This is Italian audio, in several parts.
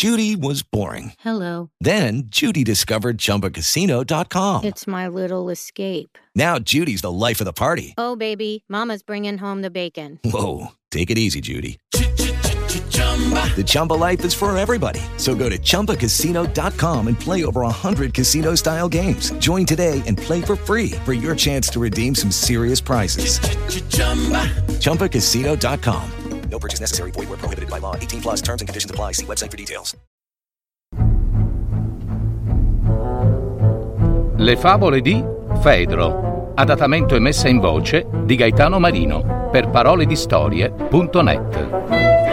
Judy was boring. Hello. Then Judy discovered ChumbaCasino.com. It's my little escape. Now Judy's the life of the party. Oh, baby, mama's bringing home the bacon. Whoa, take it easy, Judy. The Chumba life is for everybody. So go to ChumbaCasino.com and play over 100 casino-style games. Join today and play for free for your chance to redeem some serious prizes. ChumbaCasino.com. No purchase necessary. Void where prohibited by law. 18 plus terms and conditions apply. See website for details. Le favole di Fedro. Adattamento e messa in voce di Gaetano Marino per paroledistorie.net.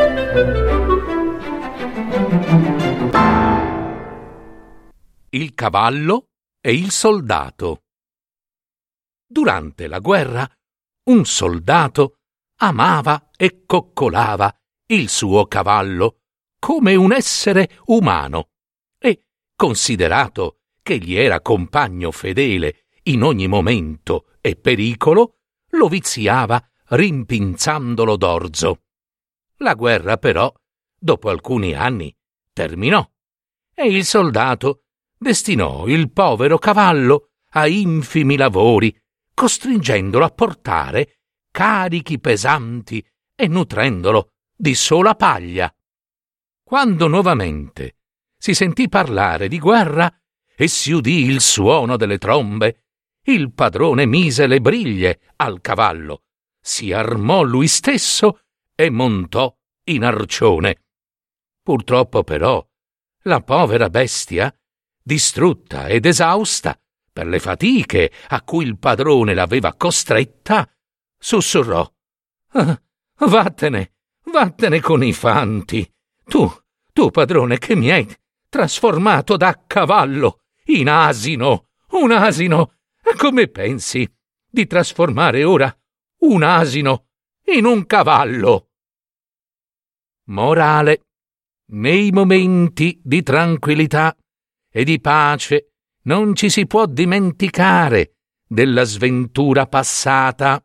Il cavallo e il soldato. Durante la guerra, un soldato amava e coccolava il suo cavallo come un essere umano e, considerato che gli era compagno fedele in ogni momento e pericolo, lo viziava rimpinzandolo d'orzo. La guerra, però, dopo alcuni anni, terminò e il soldato destinò il povero cavallo a infimi lavori, costringendolo a portare carichi pesanti e nutrendolo di sola paglia. Quando nuovamente si sentì parlare di guerra e si udì il suono delle trombe, il padrone mise le briglie al cavallo, si armò lui stesso e montò in arcione. Purtroppo però la povera bestia, distrutta ed esausta per le fatiche a cui il padrone l'aveva costretta, sussurrò: vattene con i fanti. Tu padrone, che mi hai trasformato da cavallo in asino, un asino. Come pensi di trasformare ora un asino in un cavallo? Morale: nei momenti di tranquillità e di pace non ci si può dimenticare della sventura passata.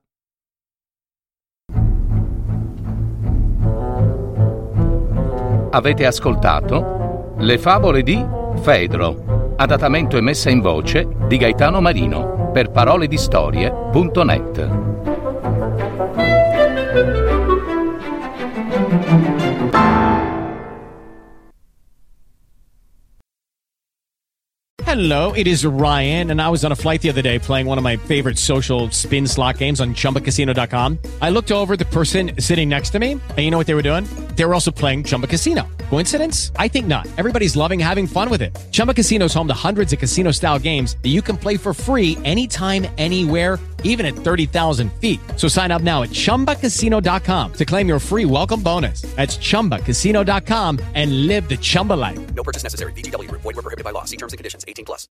Avete ascoltato Le favole di Fedro, adattamento e messa in voce di Gaetano Marino per paroledistorie.net. Hello, it is Ryan, and I was on a flight the other day playing one of my favorite social spin slot games on ChumbaCasino.com. I looked over at the person sitting next to me, and you know what they were doing? They were also playing Chumba Casino. Coincidence? I think not. Everybody's loving having fun with it. Chumba Casino is home to hundreds of casino-style games that you can play for free anytime, anywhere, even at 30,000 feet. So sign up now at ChumbaCasino.com to claim your free welcome bonus. That's ChumbaCasino.com and live the Chumba life. No purchase necessary. VGW. Void where prohibited by law. See terms and conditions. 18 plus.